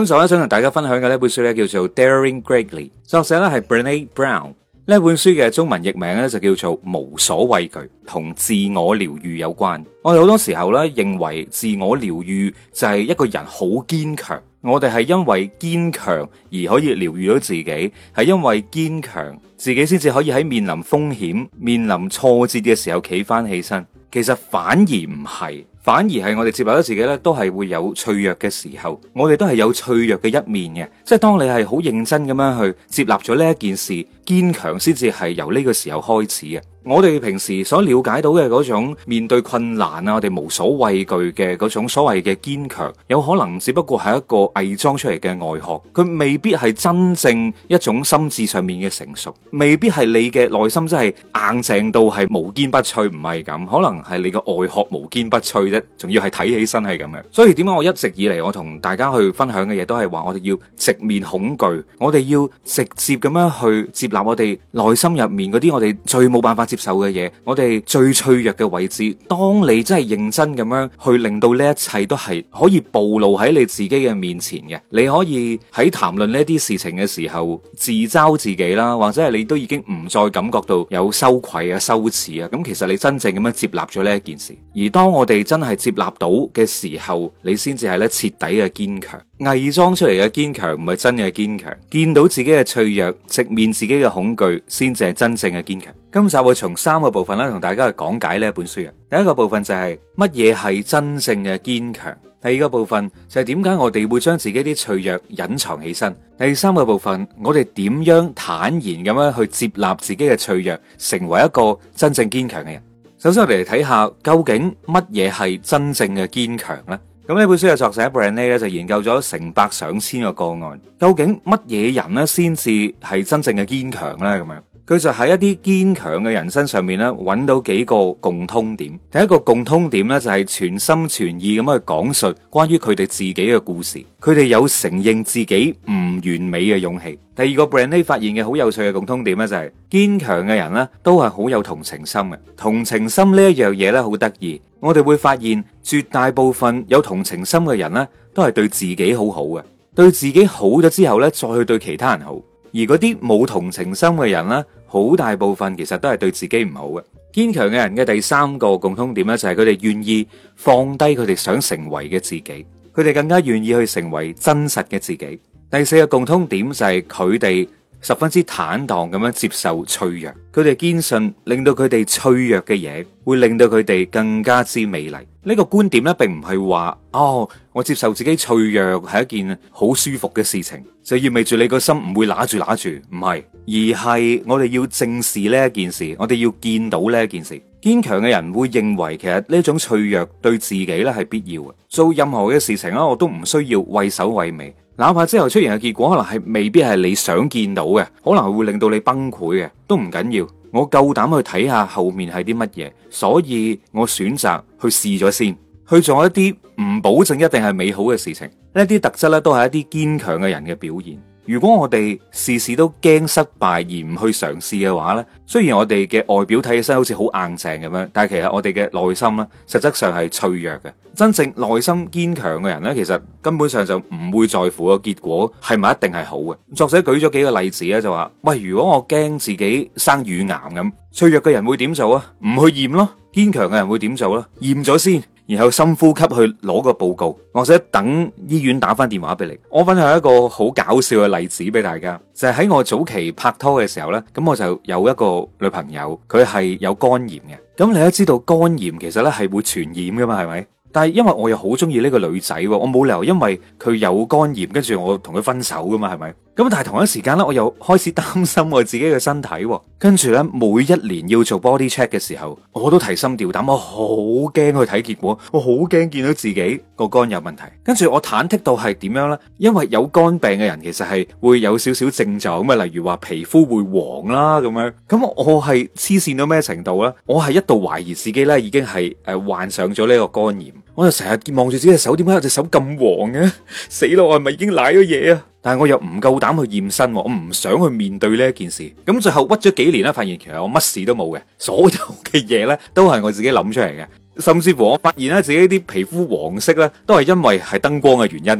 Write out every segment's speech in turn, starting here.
咁所以想同大家分享嘅呢本書咧叫做《Daring Greatly》，作者咧係 Brené Brown。呢本書嘅中文譯名咧就叫做《無所畏懼》，同自我療愈有關。我哋好多時候咧認為自我療愈就係一個人好堅強，我哋係因為堅強而可以療愈到自己，係因為堅強自己先至可以喺面臨風險、面臨挫折嘅時候企翻起身。其實反而唔係。反而係我哋接納咗自己咧，都係會有脆弱嘅時候，我哋都係有脆弱嘅一面嘅。即係當你係好認真咁樣去接納咗呢一件事，堅強先至係由呢個時候開始嘅。我哋平時所了解到嘅嗰種面對困難啊，我哋無所畏懼嘅嗰種所謂嘅堅強，有可能只不過係一個偽裝出嚟嘅外殼，佢未必係真正一種心智上面嘅成熟，未必係你嘅內心真係硬淨到係無堅不摧，唔係咁，可能係你個外殼無堅不摧啫，仲要係睇起身係咁樣。所以點解我一直以嚟我同大家去分享嘅嘢都係話，我哋要直面恐懼，我哋要直接咁樣去接納我哋內心入面嗰啲我哋最冇辦法接受嘅嘢，我哋最脆弱嘅位置。當你真係認真咁樣去令到呢一切都係可以暴露喺你自己嘅面前嘅，你可以喺談論呢啲事情嘅時候自嘲自己啦，或者係你都已經唔再感覺到有羞愧啊、羞恥啊，咁其實你真正咁樣接納咗呢一件事。而當我哋真係接納到嘅時候，你先至係咧徹底嘅堅強。偽裝出嚟嘅堅強唔係真嘅堅強，見到自己嘅脆弱，直面自己嘅恐懼，先至係真正嘅堅強。今集會從3個部分咧同大家去講解呢一本書嘅。第一個部分就係乜嘢係真正嘅堅強，第二個部分就係點解我哋會將自己啲脆弱隱藏起身，第三個部分我哋點樣坦然咁樣去接納自己嘅脆弱，成為一個真正堅強嘅人。首先我哋嚟睇下究竟乜嘢係真正嘅堅強呢？咁呢本書嘅作者 Brené 咧就研究咗成百上千個個案，究竟乜嘢人咧先至係真正嘅堅強呢？咁樣佢就喺一啲堅強嘅人身上面咧揾到幾個共通點。第一個共通點咧就係全心全意咁去講述關於佢哋自己嘅故事，佢哋有承認自己唔完美嘅勇氣。第二個 Brené 發現嘅好有趣嘅共通點咧就係堅強嘅人咧都係好有同情心嘅。同情心呢一樣嘢咧好得意，我哋會發現絕大部分有同情心嘅人咧都係對自己好好嘅，對自己好咗之後咧再去對其他人好。而嗰啲冇同情心嘅人咧，好大部分其實都係對自己唔好嘅。堅強嘅人嘅第三個共通點咧就係佢哋願意放低佢哋想成為嘅自己，佢哋更加願意去成為真實嘅自己。第四個共通點就係佢哋十分之坦蕩咁樣接受脆弱，佢哋堅信令到佢哋脆弱嘅嘢會令到佢哋更加之美麗。呢個觀點咧並唔係話我接受自己脆弱係一件好舒服嘅事情，就意味住你個心唔會揦住，唔係，而係我哋要正視呢一件事，我哋要見到呢一件事。堅強嘅人會認為其實呢種脆弱對自己咧係必要嘅，做任何嘅事情我都唔需要畏首畏尾，哪怕之後出現嘅結果可能係未必係你想見到嘅，可能係會令到你崩潰嘅，都唔緊要。我夠膽去睇下後面係啲乜嘢，所以我選擇去試咗先，去做一啲唔保證一定係美好嘅事情。呢啲特質咧都係一啲堅強嘅人嘅表現。如果我哋事事都驚失敗而唔去嘗試嘅話咧，雖然我哋嘅外表睇起身好似好硬淨咁樣，但係其實我哋嘅內心咧，實質上係脆弱嘅。真正內心堅強嘅人咧，其實根本上就唔會在乎個結果係咪一定係好嘅。作者舉咗幾個例子咧，就話喂，如果我驚自己生乳癌咁，脆弱嘅人會點做啊？唔去驗咯。堅強嘅人會點做咧？驗咗先，然後深呼吸去攞個報告，或者等醫院打翻電話俾你。我分享一個好搞笑嘅例子俾大家，就係喺我早期拍拖嘅時候呢，咁我就有一個女朋友，佢係有肝炎嘅。咁你都知道肝炎其實呢係會傳染噶嘛，係咪？但係因為我又好中意呢個女仔，我冇理由因為佢有肝炎跟住我同佢分手噶嘛，係咪？咁但係同一時間咧，我又開始擔心我自己嘅身體，跟住咧每一年要做 body check 嘅時候，我都提心吊膽，我好驚去睇結果，我好驚見到自己個肝有問題。跟住我忐忑到係點樣呢？因為有肝病嘅人其實係會有少少症狀咁啊，例如話皮膚會黃啦咁樣。咁我係黐線到咩程度呢？我係一度懷疑自己咧已經係患上咗呢個肝炎。我就成日望住自己隻手，點解有隻手咁黃嘅？死咯！我係咪已經瀨咗嘢啊？但係我又唔夠膽去驗身，我唔想去面對呢一件事。咁最後屈咗幾年咧，發現其實我乜事都冇嘅，所有嘅嘢咧都係我自己諗出嚟嘅。甚至乎我發現咧自己啲皮膚黃色咧都係因為係燈光嘅原因嘅啫，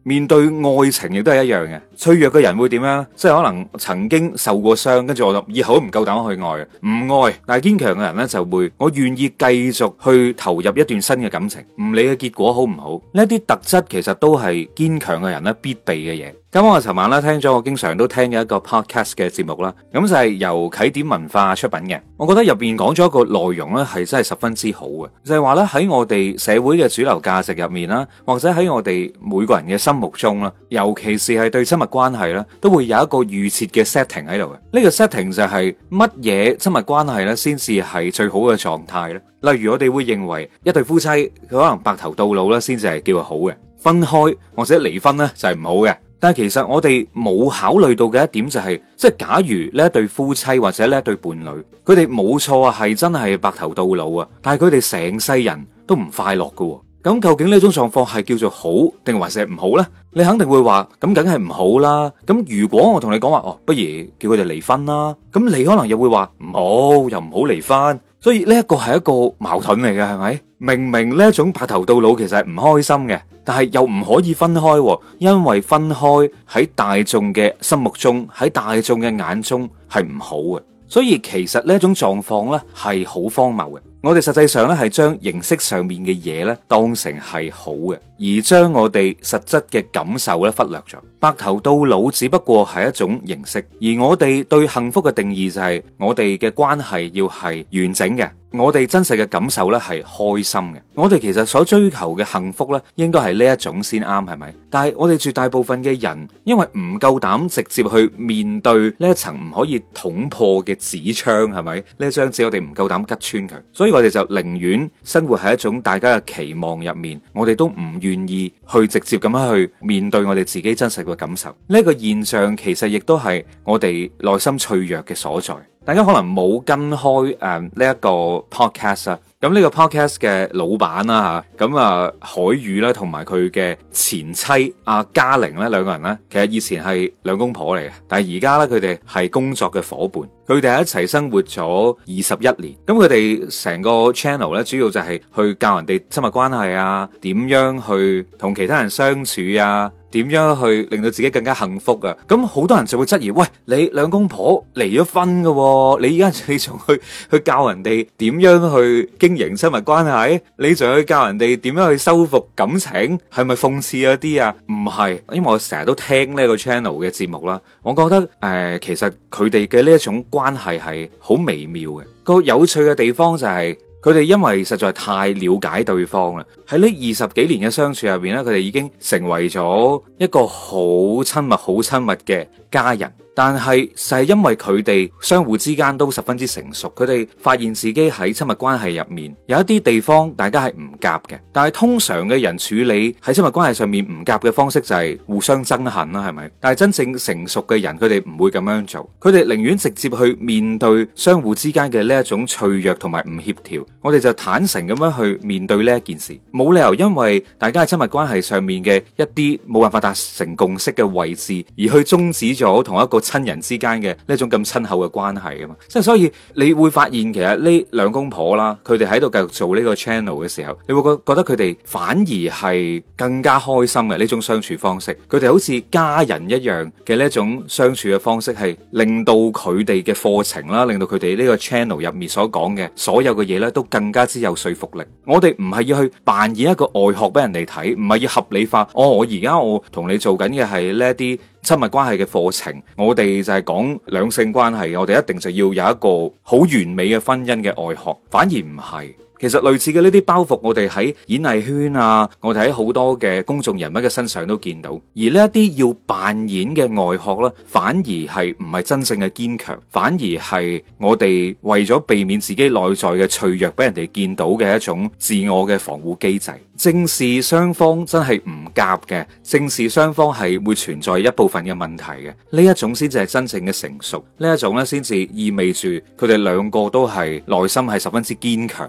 面對愛情亦都係一樣嘅。脆弱嘅人會點樣？即係可能曾經受過傷，跟住我就以後都唔夠膽去愛，唔愛。但係堅強嘅人呢，就會，我願意繼續去投入一段新嘅感情，唔理嘅結果好唔好。呢啲特質其實都係堅強嘅人咧必備嘅嘢。咁我尋晚咧聽咗我經常都聽嘅一個 podcast 嘅節目啦，咁就係由啟點文化出品嘅。我覺得入邊講咗一個內容咧係真係十分之好嘅，就係話咧喺我哋社會嘅主流價值入面啦，或者喺我哋每個人嘅心目中啦，尤其是係對親密關係啦，都會有一個預設嘅 setting 喺度嘅。呢個 setting 就係乜嘢親密關係咧先至係最好嘅狀態咧？例如我哋會認為一對夫妻佢可能白頭到老咧先至係叫好嘅，分開或者離婚咧就係唔好嘅。但係其實我哋冇考慮到嘅一點就係，即係假如呢一對夫妻或者呢一對伴侶，佢哋冇錯啊，係真係白頭到老啊，但係佢哋成世人都唔快樂㗎。咁究竟呢種狀況係叫做好定還是唔好呢？你肯定會話，咁梗係唔好啦。咁如果我同你講話，不如叫佢哋離婚啦，咁你可能又會話唔好，又唔好離婚。所以呢一個係一個矛盾嚟嘅，係咪？明明呢一種白頭到老其實係唔開心嘅，但係又唔可以分開，因為分開喺大眾嘅心目中，喺大眾嘅眼中係唔好嘅。所以其實呢一種狀況呢係好荒謬嘅。我哋實際上咧係將形式上面嘅嘢咧當成係好嘅，而將我哋實質嘅感受咧忽略咗。白頭到老只不過係一種形式，而我哋對幸福嘅定義就係我哋嘅關係要係完整嘅，我哋真實嘅感受咧係開心嘅。我哋其實所追求嘅幸福咧應該係呢一種先啱，係咪？但係我哋絕大部分嘅人因為唔夠膽直接去面對呢一層唔可以捅破嘅紙窗，係咪？呢一張紙我哋唔夠膽吉穿佢，所以我哋就寧願生活喺一種大家嘅期望入面，我哋都唔願意去直接咁樣去面對我哋自己真實嘅感受。呢個現象其實亦都係我哋內心脆弱嘅所在。大家可能冇跟開呢一個 podcast 啊，咁呢個 podcast 嘅老闆啦嚇，咁海宇啦同埋佢嘅前妻阿嘉玲咧兩個人咧，其實以前係兩公婆嚟嘅，但係而家咧佢哋係工作嘅夥伴，佢哋喺一齊生活咗21年，咁佢哋成個 channel 咧主要就係去教人哋親密關係啊，點樣去同其他人相處啊，點樣去令到自己更加幸福啊。咁好多人就會質疑，喂，你兩公婆離咗婚㗎喎，你而家你仲去教人哋點樣去經營親密關係，你仲去教人哋點樣去修復感情，係咪諷刺一啲啊？唔係，因為我成日都聽呢個 channel 嘅節目啦，我覺得其實佢哋嘅呢一種關係係好微妙嘅。個有趣嘅地方就係佢哋因為實在太了解對方啦，喺呢20幾年嘅相處入邊咧，佢哋已經成為咗一個好親密、好親密嘅家人。但係就係因為佢哋相互之間都十分之成熟，佢哋發現自己喺親密關係入面有一啲地方大家係唔夾嘅。但係通常嘅人處理喺親密關係上面唔夾嘅方式就係互相憎恨啦，係咪？但係真正成熟嘅人，佢哋唔會咁樣做，佢哋寧願直接去面對相互之間嘅呢一種脆弱同埋唔協調。我哋就坦誠咁樣去面對呢一件事，冇理由因為大家喺親密關係上面嘅一啲冇辦法達成共識嘅位置，而去終止咗同一個親人之間嘅呢種咁親厚嘅關係啊嘛。即係所以你會發現其實呢兩公婆啦，佢哋喺度繼續做呢個 channel 嘅時候，你會覺得佢哋反而係更加開心嘅呢種相處方式。佢哋好似家人一樣嘅呢種相處嘅方式，係令到佢哋嘅課程啦，令到佢哋呢個 channel 入面所講嘅所有嘅嘢咧，都更加之有說服力。我哋唔係要去扮演一個外殼俾人哋睇，唔係要合理化。我而家我同你做緊嘅係呢一啲親密關係嘅課程，我哋就係講兩性關係，我哋一定就要有一個好完美嘅婚姻嘅外殼，反而唔係。其實類似嘅呢啲包袱，我哋喺演藝圈啊，我哋喺好多嘅公眾人物嘅身上都見到。而呢一啲要扮演嘅外殼咧，反而係唔係真正嘅堅強，反而係我哋為咗避免自己內在嘅脆弱俾人哋見到嘅一種自我嘅防護機制。正視雙方真係唔夾嘅，正視雙方係會存在一部分嘅問題嘅，呢一種先至係真正嘅成熟，呢一種咧先至意味住佢哋兩個都係內心係十分之堅強嘅人。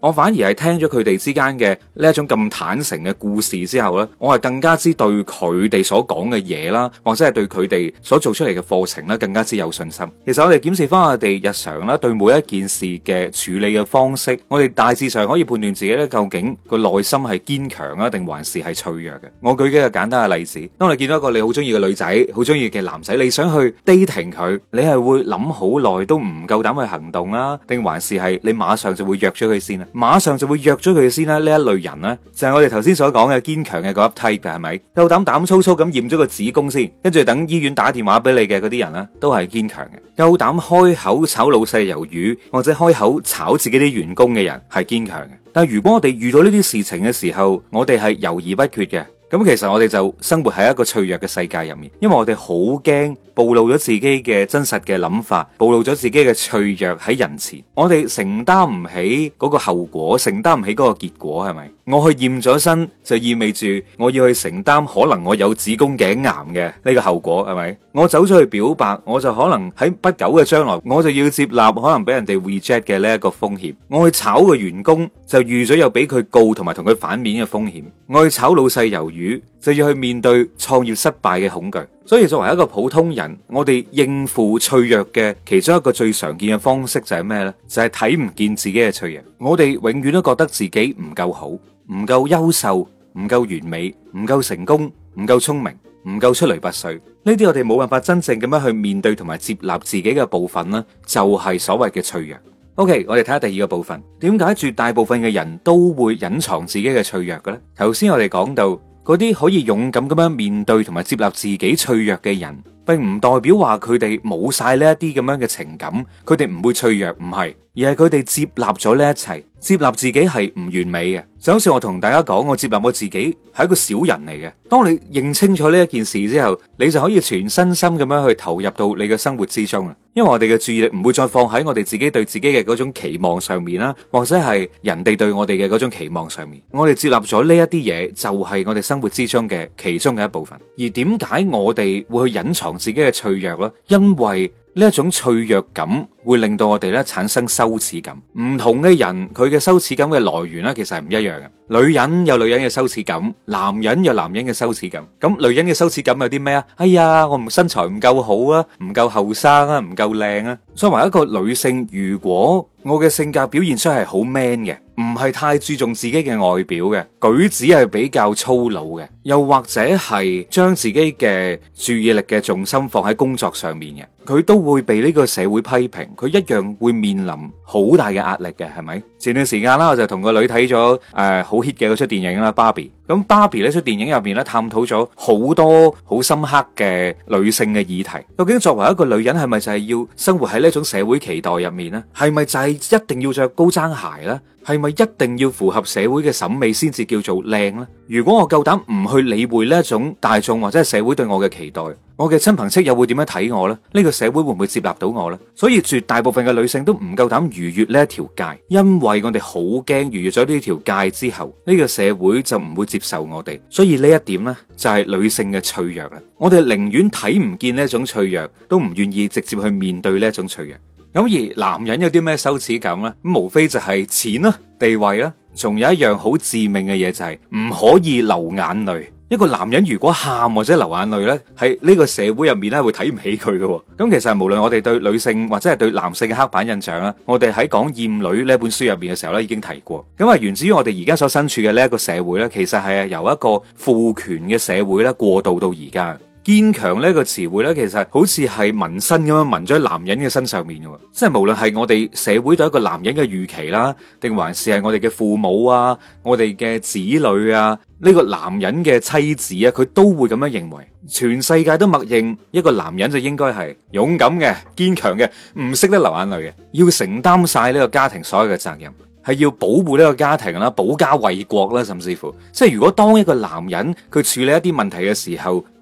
我反而係聽咗佢哋之間嘅呢一種咁坦誠嘅故事之後呢，我係更加之對佢哋所講嘅嘢啦，或者係對佢哋所做出嚟嘅課程咧，更加之有信心。其實我哋檢視翻我哋日常啦，對每一件事嘅處理嘅方式，我哋大致上可以判斷自己咧究竟個內心係堅強啊，定還是係脆弱嘅。我舉幾個簡單嘅例子，當你見到一個你好中意嘅女仔，好中意嘅男仔，你想去 dating 佢，你係會諗好耐都唔夠膽去行動啦，定還是係你馬上就會約咗佢先啊？馬上就會約咗佢先啦？呢一類人呢，就係我哋頭先所講嘅堅強嘅嗰一 type 嘅，係咪？夠膽粗粗咁驗咗個子宮先，跟住等醫院打電話俾你嘅嗰啲人呢，都係堅強嘅。夠膽開口炒老細魷魚，或者開口炒自己啲員工嘅人，係堅強嘅。但係如果我哋遇到呢啲事情嘅時候，我哋係猶豫不決嘅，咁其實我哋就生活喺一個脆弱嘅世界入面，因為我哋好驚暴露咗自己嘅真實嘅諗法，暴露咗自己嘅脆弱喺人前，我哋承擔唔起嗰個後果，承擔唔起嗰個結果，係咪？我去驗咗身就意味住我要去承擔可能我有子宮頸癌嘅呢個後果，係咪？我走咗去表白，我就可能喺不久嘅將來我就要接納可能俾人哋 reject 嘅呢一個風險。我去炒個員工就預咗有俾佢告同埋同佢反面嘅風險。我去炒老細魷魚就要去面對創業失敗嘅恐懼。所以作為一個普通人，我哋應付脆弱嘅其中一個最常見嘅方式就係咩呢？就係睇唔見自己嘅脆弱。我哋永遠都覺得自己唔夠好，唔夠優秀，唔夠完美，唔夠成功，唔夠聰明，唔夠出類拔萃。呢啲我哋冇辦法真正咁樣去面對同埋接納自己嘅部分呢，就係所謂嘅脆弱。OK， 我哋睇下第二個部分，點解絕大部分嘅人都會隱藏自己嘅脆弱嘅咧？頭先我哋講到嗰啲可以勇敢咁樣面對同埋接納自己脆弱嘅人，並唔代表話佢哋冇晒呢一啲咁樣嘅情感，佢哋唔會脆弱，唔係，而係佢哋接納咗呢一切，接納自己係唔完美嘅。就好似我同大家講，我接納我自己係一個小人嚟嘅。當你認清楚呢一件事之後，你就可以全身心咁樣去投入到你嘅生活之中啦。因為我哋嘅注意力唔會再放喺我哋自己對自己嘅嗰種期望上面啦，或者係人哋對我哋嘅嗰種期望上面。我哋接納咗呢一啲嘢，就係我哋生活之中嘅其中嘅一部分。而點解我哋會去隱藏自己嘅脆弱呢？因為呢一種脆弱感會令到我哋咧產生羞恥感。唔同嘅人佢嘅羞恥感嘅來源咧，其實係唔一樣嘅。女人有女人嘅羞恥感，男人有男人嘅羞恥感。咁女人嘅羞恥感有啲咩啊？哎呀，我身材唔夠好啊，唔夠後生啊，唔夠靚啊。作為一個女性，如果我嘅性格表現出係好 man 嘅，唔係太注重自己嘅外表嘅，舉止係比較粗魯嘅，又或者係將自己嘅注意力嘅重心放喺工作上面嘅，佢都會被呢個社會批評，佢一樣會面臨好大嘅壓力嘅，係咪？前段時間啦，我就同個女睇咗好 hit 嘅嗰出電影啦，芭比。咁芭比呢出電影入面咧，探討咗好多好深刻嘅女性嘅議題。究竟作為一個女人，係咪就係要生活喺呢種社會期待入面呢？係咪就係一定要着高踭鞋呢？係咪一定要符合社會嘅審美先至叫做靚呢？如果我夠膽唔去理會呢一種大眾或者係社會對我嘅期待，我嘅親朋戚友會點樣睇我呢？呢個社會會唔會接納到我呢？所以絕大部分嘅女性都唔夠膽逾越呢一條界，因為我哋好驚逾越咗呢條界之後，呢個社會就唔會接受我哋。所以呢一點呢，就係女性嘅脆弱啦。我哋寧願睇唔見呢一種脆弱，都唔願意直接去面對呢一種脆弱。咁而男人有啲咩羞恥感呢？咁無非就係錢啦、地位啦，仲有一樣好致命嘅嘢就係唔可以流眼淚。一個男人如果喊或者流眼淚呢，喺呢個社會入面咧會睇唔起佢嘅。咁其實無論我哋對女性或者係對男性嘅刻板印象啦，我哋喺講厭女呢本書入面嘅時候咧已經提過。咁啊，源自於我哋而家所身處嘅呢一個社會呢，其實係由一個父權嘅社會咧過渡到而家。堅強呢個詞彙呢，其實好似係紋身咁樣紋咗喺男人嘅身上面嘅，即係無論係我哋社會對一個男人嘅預期啦，定還是係我哋嘅父母啊、我哋嘅子女啊，呢個男人嘅妻子啊，佢都會咁樣認為。全世界都默認一個男人就應該係勇敢嘅、堅強嘅，唔識得流眼淚嘅，要承擔晒呢個家庭所有嘅責任。係要保護呢個家庭啦，保家衛國啦，甚至乎，即係如果當一個男人佢處理一啲問題嘅時候，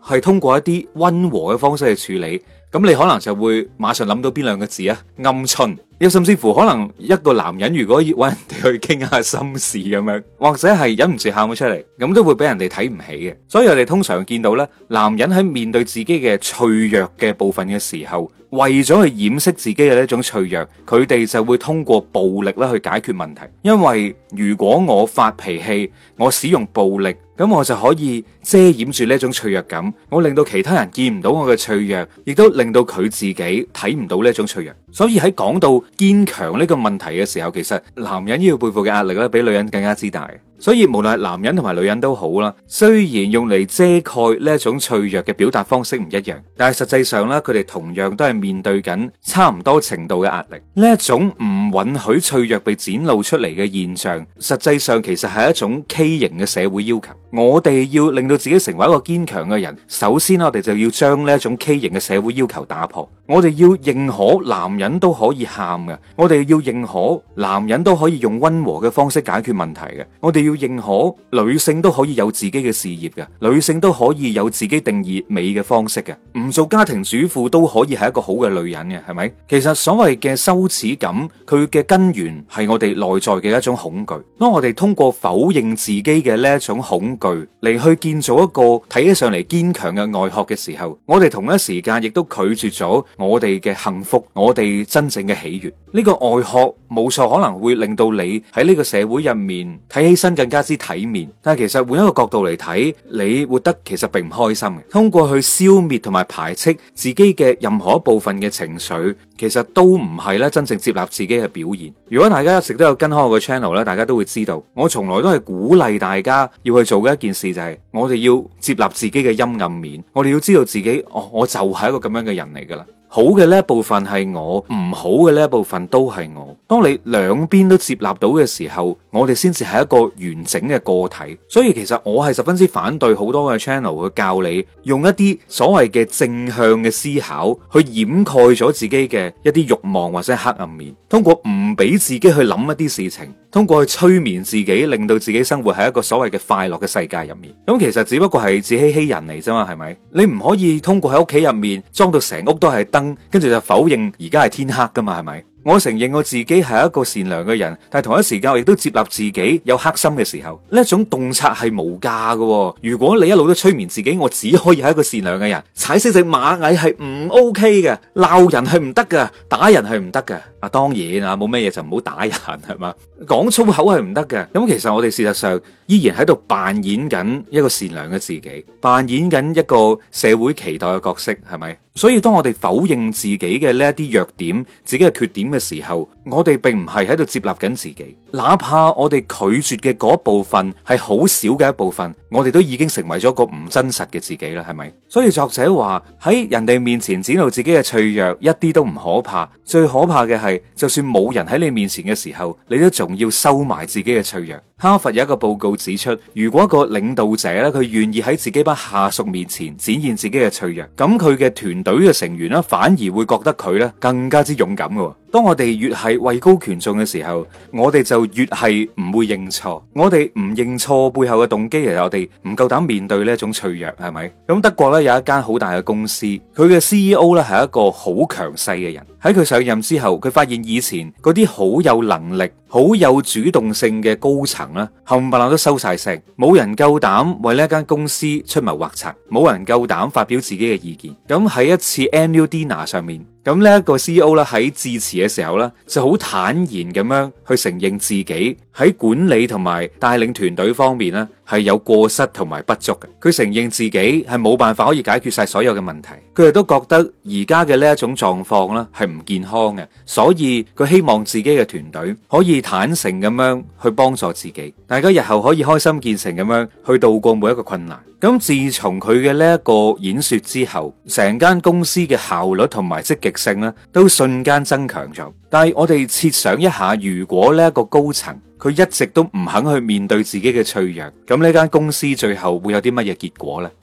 係通過一啲溫和嘅方式去處理，咁你可能就會馬上諗到邊兩個字啊？鵪鶉。又甚至乎可能一個男人如果要揾人哋去傾下心事咁樣，或者係忍唔住喊咗出嚟，咁都會俾人哋睇唔起嘅。所以我哋通常見到咧，男人喺面對自己嘅脆弱嘅部分嘅時候，為咗去掩飾自己嘅呢一種脆弱，佢哋就會通過暴力咧去解決問題。因為如果我發脾氣，我使用暴力，咁我就可以遮掩住呢一種脆弱感，我令到其他人見唔到我嘅脆弱，亦都令到佢自己睇唔到呢一種脆弱。所以喺講到堅強呢個問題嘅時候，其實男人要背負嘅壓力咧，比女人更加之大。所以無論係男人同埋女人都好啦，雖然用嚟遮蓋呢一種脆弱嘅表達方式唔一樣，但係實際上咧，佢哋同樣都係面對緊差唔多程度嘅壓力。呢一種唔允許脆弱被展露出嚟嘅現象，實際上其實係一種畸形嘅社會要求。我哋要令到自己成為一個堅強嘅人，首先我哋就要將呢一種畸形嘅社會要求打破。我哋要認可男人都可以喊嘅，我哋要認可男人都可以用溫和嘅方式解決問題嘅，我哋要認可女性都可以有自己嘅事業嘅，女性都可以有自己定義美嘅方式嘅，唔做家庭主婦都可以係一個好嘅女人嘅，係咪？其實所謂嘅羞恥感，佢嘅根源係我哋內在嘅一種恐懼。當我哋通過否認自己嘅呢一種恐懼嚟去建造一個睇起上嚟堅強嘅外殼嘅時候，我哋同一時間亦都拒絕咗我哋嘅幸福，我哋真正嘅喜悅。呢個外殼冇錯，可能會令到你喺呢個社會入面睇起身更加之體面，但係其實換一個角度嚟睇，你活得其實並唔開心嘅。通過去消滅同埋排斥自己嘅任何一部分嘅情緒，其實都唔係咧真正接納自己嘅表現。如果大家一直都有跟開我嘅 channel 咧，大家都會知道，我從來都係鼓勵大家要去做嘅一件事就係，我哋要接納自己嘅陰暗面，我哋要知道自己，我就係一個咁樣嘅人嚟噶啦。好嘅呢一部分係我，唔好嘅呢一部分都係我。當你兩邊都接納到嘅時候，我哋先至係一個完整嘅個體。所以其實我係十分之反對好多嘅 channel 去教你用一啲所謂嘅正向嘅思考去掩蓋咗自己嘅一啲慾望或者黑暗面，通過唔俾自己去諗一啲事情，通過去催眠自己，令到自己生活喺一個所謂嘅快樂嘅世界入面。咁其實只不過係自欺欺人嚟啫嘛，係咪？你唔可以通過喺屋企入面裝到成屋都係燈，跟住就否認而家係天黑噶嘛，係咪？我承認我自己係一個善良嘅人，但係同一時間我亦都接納自己有黑心嘅時候。呢一種洞察係無價嘅。如果你一路都催眠自己，我只可以係一個善良嘅人，踩死隻螞蟻係唔 OK 嘅，鬧人係唔得嘅，打人係唔得嘅。當然啊，冇咩嘢就唔好打人係嘛，講粗口係唔得嘅。咁其實我哋事實上依然喺度扮演緊一個善良嘅自己，扮演緊一個社會期待嘅角色，係咪？所以當我哋否認自己嘅呢一啲弱點、自己嘅缺點嘅時候，我哋並唔係喺度接納緊自己，哪怕我哋拒絕嘅嗰部分係好少嘅一部分，我哋都已經成為咗個唔真實嘅自己啦，係咪？所以作者話喺人哋面前展露自己嘅脆弱一啲都唔可怕，最可怕嘅係就算冇人喺你面前嘅時候，你都仲要收埋自己嘅脆弱。哈佛有一個報告指出，如果一個領導者咧，佢願意喺自己班下屬面前展現自己嘅脆弱，咁佢嘅團隊嘅成員咧，反而會覺得佢咧更加之勇敢嘅。當我哋越係位高權重嘅時候，我哋就越係唔會認錯。我哋唔認錯背後嘅動機，其實我哋唔夠膽面對呢一種脆弱，係咪？咁德國咧有一間好大嘅公司，佢嘅 CEO 咧係一個好強勢嘅人。喺佢上任之後，佢發現以前嗰啲好有能力、好有主動性嘅高層啦，冚唪唥都收晒聲，冇人夠膽為呢一間公司出謀劃策，冇人夠膽發表自己嘅意見。咁喺一次 annual dinner 上面，咁呢一個 CEO 咧喺致辭嘅時候咧，就好坦然咁樣去承認自己喺管理同埋帶領團隊方面咧係有過失同埋不足嘅。佢承認自己係冇辦法可以解決晒所有嘅問題，佢亦都覺得而家嘅呢一種狀況咧係唔健康嘅，所以佢希望自己嘅團隊可以坦誠咁樣去幫助自己，大家日後可以開心見誠咁樣去度過每一個困難。咁自從佢嘅呢一個演說之後，成間公司嘅效率同埋積極性咧都瞬間增強咗。但係我哋設想一下，如果呢一個高層佢一直都唔肯去面對自己嘅脆弱，咁呢間公司最後會有啲乜嘢結果呢？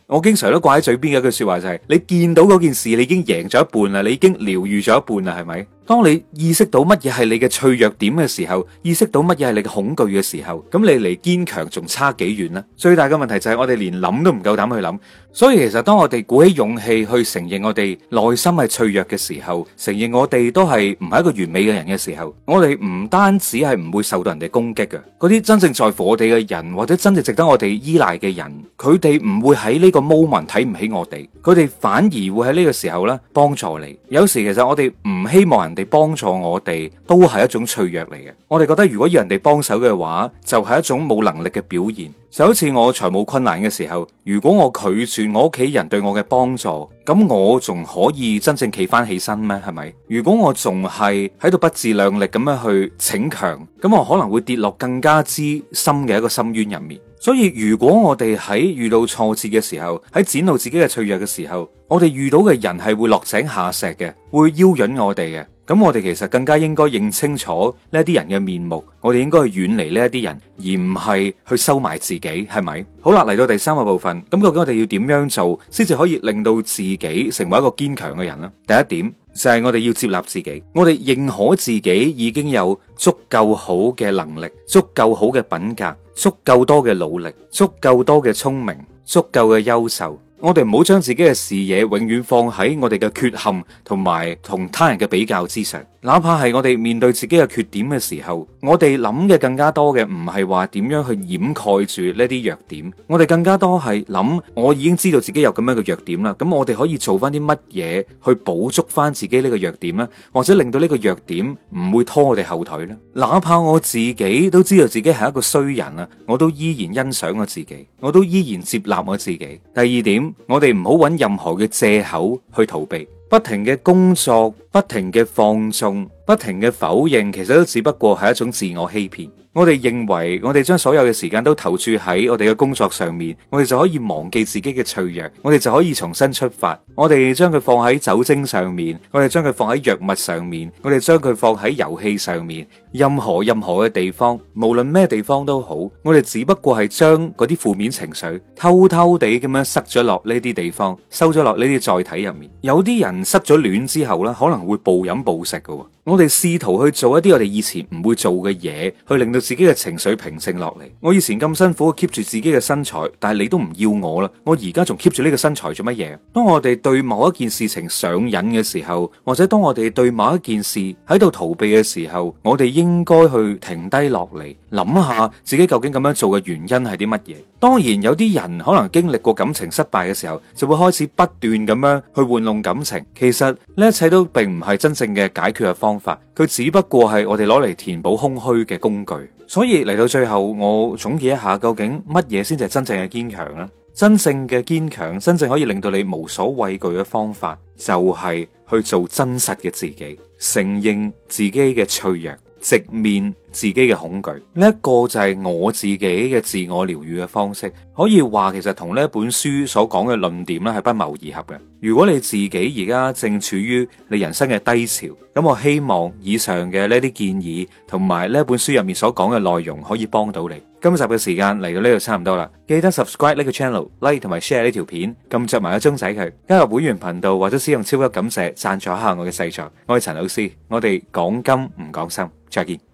我經常都掛喺嘴邊嘅一句說話就係，你見到嗰件事，你已經贏咗一半啦，你已經療愈咗一半啦，係咪？當你意識到乜嘢係你嘅脆弱點嘅時候，意識到乜嘢係你嘅恐懼嘅時候，咁你離堅強仲差幾遠呢？最大嘅問題就係我哋連諗都唔夠膽去諗。所以其實當我哋鼓起勇氣去承認我哋內心係脆弱嘅時候，承認我哋都係唔係一個完美嘅人嘅時候，我哋唔單止係唔會受到人哋攻擊嘅，嗰啲真正在乎我哋嘅人，或者真正值得我哋依賴嘅人，佢哋唔會喺呢個 moment 睇唔起我哋，佢哋反而會喺呢個時候咧幫助你。有時其實我哋唔希望人哋幫助我哋，都係一種脆弱嚟嘅。我哋覺得如果要人哋幫手嘅話，就係一種冇能力嘅表現。就好似我財務困難嘅時候，如果我拒絕我屋企人對我嘅幫助，咁我仲可以真正企翻起身咩？係咪？如果我仲係喺度不自量力咁樣去逞強，咁我可能會跌落更加之深嘅一個深淵入面。所以如果我哋喺遇到挫折嘅時候，喺展露自己嘅脆弱嘅時候，我哋遇到嘅人係會落井下石嘅，會邀引我哋嘅。咁我哋其實更加應該認清楚呢啲人嘅面目，我哋應該去遠離呢一啲人，而唔係去收埋自己，係咪？好啦，嚟到第三個部分，咁究竟我哋要點樣做，先至可以令到自己成為一個堅強嘅人呢？第一點就係我哋要接納自己，我哋認可自己已經有足夠好嘅能力，足夠好嘅品格，足夠多嘅努力，足夠多嘅聰明，足夠嘅優秀。我哋唔好將自己嘅視野永遠放喺我哋嘅缺陷同埋同他人嘅比較之上，哪怕係我哋面對自己嘅缺點嘅時候，我哋諗嘅更加多嘅唔係話點樣去掩蓋住呢啲弱點，我哋更加多係諗我已經知道自己有咁樣嘅弱點啦，咁我哋可以做翻啲乜嘢去補足翻自己呢個弱點呢？或者令到呢個弱點唔會拖我哋後腿呢？哪怕我自己都知道自己係一個衰人啊，我都依然欣賞我自己，我都依然接納我自己。第二點，我哋唔好揾任何嘅借口去逃避，不停嘅工作，不停嘅放縱，不停嘅否認，其實都只不過係一種自我欺騙。我哋認為我哋將所有嘅時間都投注喺我哋嘅工作上面，我哋就可以忘記自己嘅脆弱，我哋就可以重新出發。我哋將佢放喺酒精上面，我哋將佢放喺藥物上面，我哋將佢放喺遊戲上面，任何嘅地方，無論咩地方都好，我哋只不過係將嗰啲負面情緒偷偷地咁樣塞咗落呢啲地方，收咗落呢啲載體入面。有啲人失咗戀之後咧，可能會暴飲暴食㗎。我哋試圖去做一啲我哋以前唔會做嘅嘢，去令到自己嘅情緒平靜落嚟。我以前咁辛苦 keep 住自己嘅身材，但係你都唔要我啦，我而家仲 keep 住呢個身材做乜嘢？當我哋對某一件事情上癮嘅時候，或者當我哋對某一件事喺度逃避嘅時候，我哋應該去停低落嚟，諗下自己究竟咁樣做嘅原因係啲乜嘢。當然有啲人可能經歷過感情失敗嘅時候，就會開始不斷咁樣去玩弄感情。其實呢一切都並唔係真正嘅解決嘅方法，佢只不過係我哋攞嚟填補空虛嘅工具。所以嚟到最後，我總結一下，究竟乜嘢先至係真正嘅堅強呢？真正嘅堅強，真正可以令到你無所畏懼嘅方法，就係去做真實嘅自己，承認自己嘅脆弱，直面自己嘅恐懼。呢一個就係我自己嘅自我療癒嘅方式。可以話其實同呢本書所講嘅論點咧係不謀而合嘅。如果你自己而家正處於你人生嘅低潮，咁我希望以上嘅呢啲建議同埋呢本書入面所講嘅內容可以幫到你。今集嘅時間嚟到呢度差唔多啦，記得 subscribe 呢個 channel、like 同埋 share 呢條片，撳着埋個鐘仔佢，加入會員頻道或者使用超級感謝贊助一下我嘅製作。我係陳老師，我哋講金唔講心，再見。